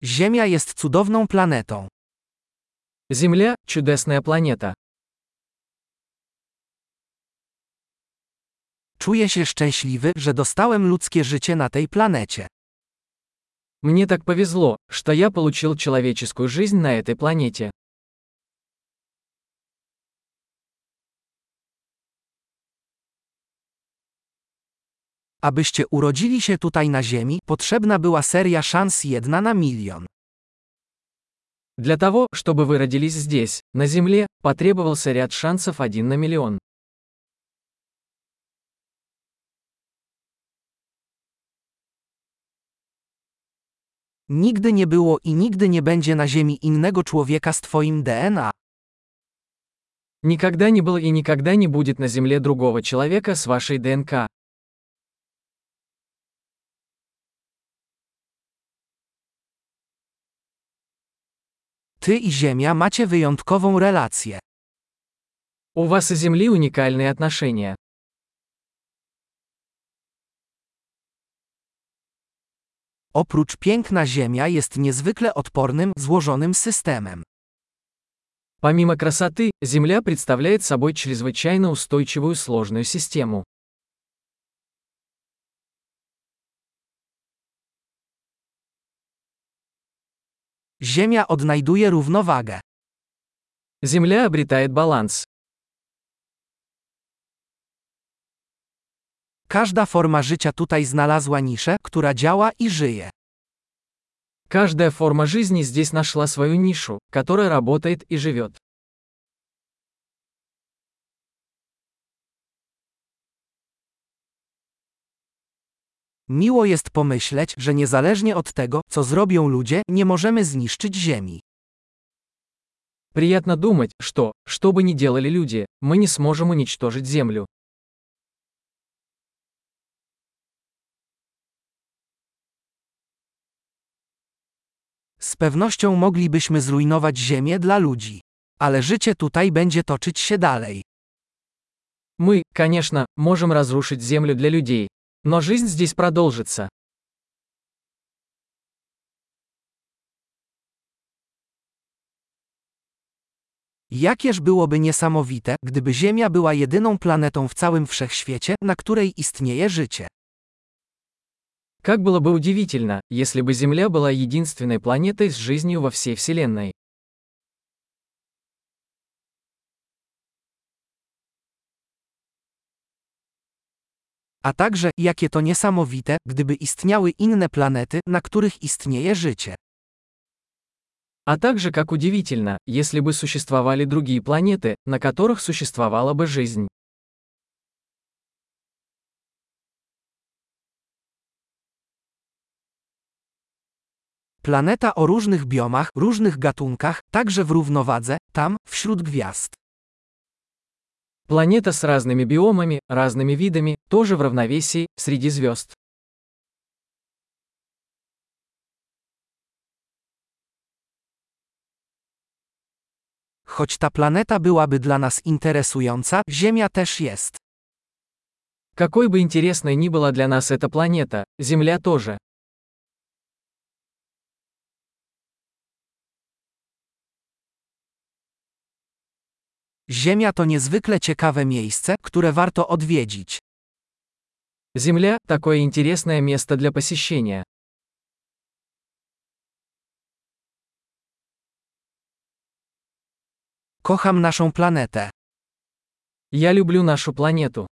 Ziemia jest cudowną planetą. Земля – чудесная планета. Czuję się szczęśliwy, że dostałem ludzkie życie na tej planecie. Мне так повезло, что я получил человеческую жизнь на этой планете. Abyście urodzili się tutaj na Ziemi, potrzebna była seria szans 1 na milion. Для того, чтобы вы родились здесь, на Земле, потребовался ряд шансов 1 на миллион. Nigdy nie było i nigdy nie będzie na Ziemi innego człowieka z twoim DNA. Никогда не было и никогда не будет на Земле другого человека с вашей ДНК. Ty i Ziemia macie wyjątkową relację. У вас и Земли уникальные отношения. Oprócz piękna Ziemia jest niezwykle odpornym, złożonym systemem. Помимо красоты, Земля представляет собой чрезвычайно устойчивую сложную систему. Ziemia odnajduje równowagę. Земля обретает баланс. Każda forma życia tutaj znalazła niszę, która działa i żyje. Каждая форма жизни здесь нашла свою нишу, которая работает и живет. Miło jest pomyśleć, że niezależnie od tego, co zrobią ludzie, nie możemy zniszczyć Ziemi. Приятно думать, что бы ни делали люди, мы не сможем уничтожить Землю. Z pewnością moglibyśmy zrujnować Ziemię dla ludzi. Ale życie tutaj będzie toczyć się dalej. Мы, конечно, можем разрушить Землю для людей. Но жизнь здесь продолжится. Jakież byłoby niesamowite, gdyby Ziemia była jedyną planetą w całym wszechświecie, na której istnieje życie. Как было бы удивительно, если бы Земля была единственной планетой с жизнью во всей Вселенной. A także, jakie to niesamowite, gdyby istniały inne planety, na których istnieje życie. А также как удивительно, если бы существовали другие планеты, на которых существовала бы жизнь. Planeta o różnych biomach, różnych gatunkach, także w równowadze, tam, wśród gwiazd. Планета с разными биомами, разными видами, тоже в равновесии, среди звезд. Choć ta planeta byłaby dla nas interesująca, Ziemia też jest. Какой бы интересной ни была для нас эта планета, Земля тоже. Ziemia to niezwykle ciekawe miejsce, które warto odwiedzić. Земля – такое интересное место для посещения. Kocham naszą planetę. Я люблю нашу планету.